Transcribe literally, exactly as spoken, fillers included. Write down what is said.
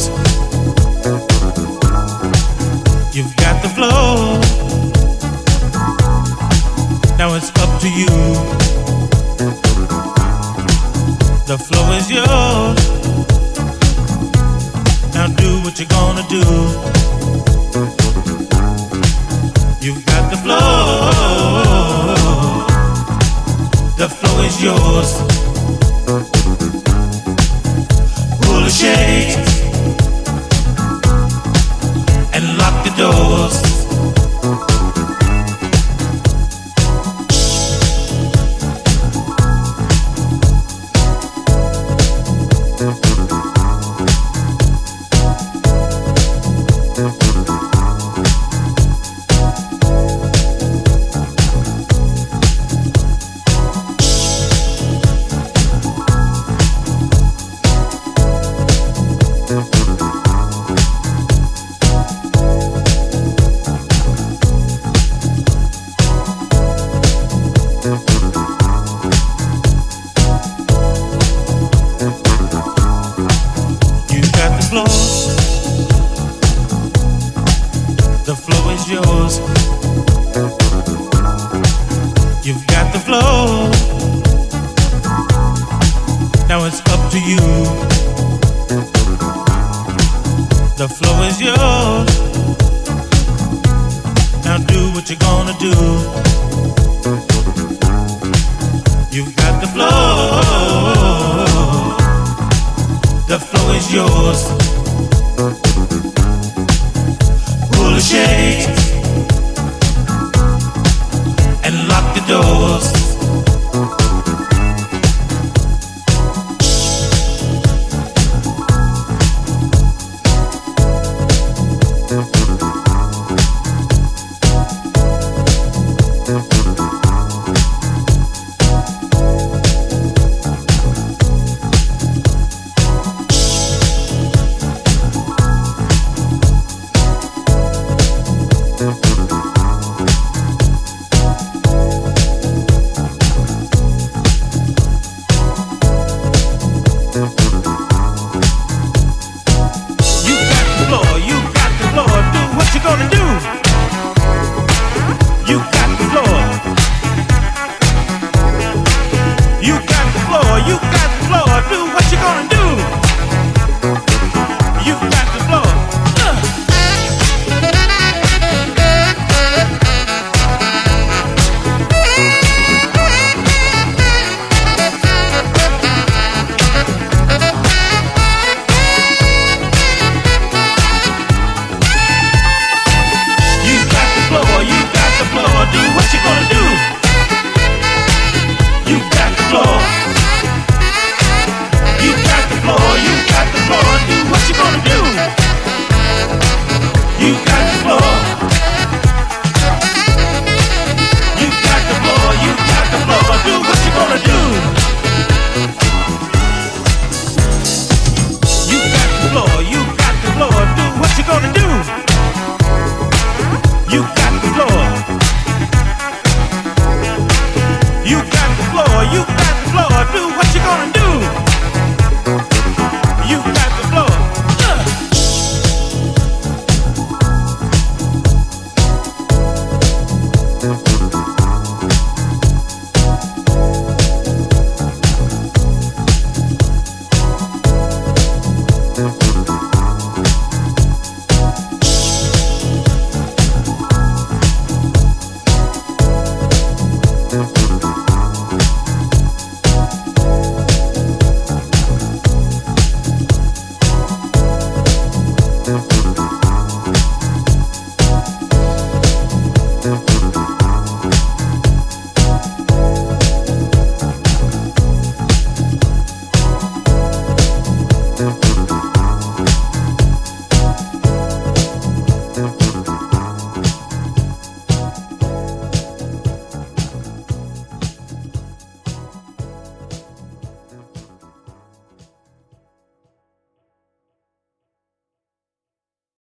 yours. You've got the flow. Now it's up to you. The flow is yours. Now do what you're gonna do. You've got the flow. The flow is yours. Pull the shades and lock the doors. The flow is yours. You've got the flow. Now it's up to you. The flow is yours. Now do what you're gonna do. You've got the flow. The flow is yours. Pull the shades and lock the doors.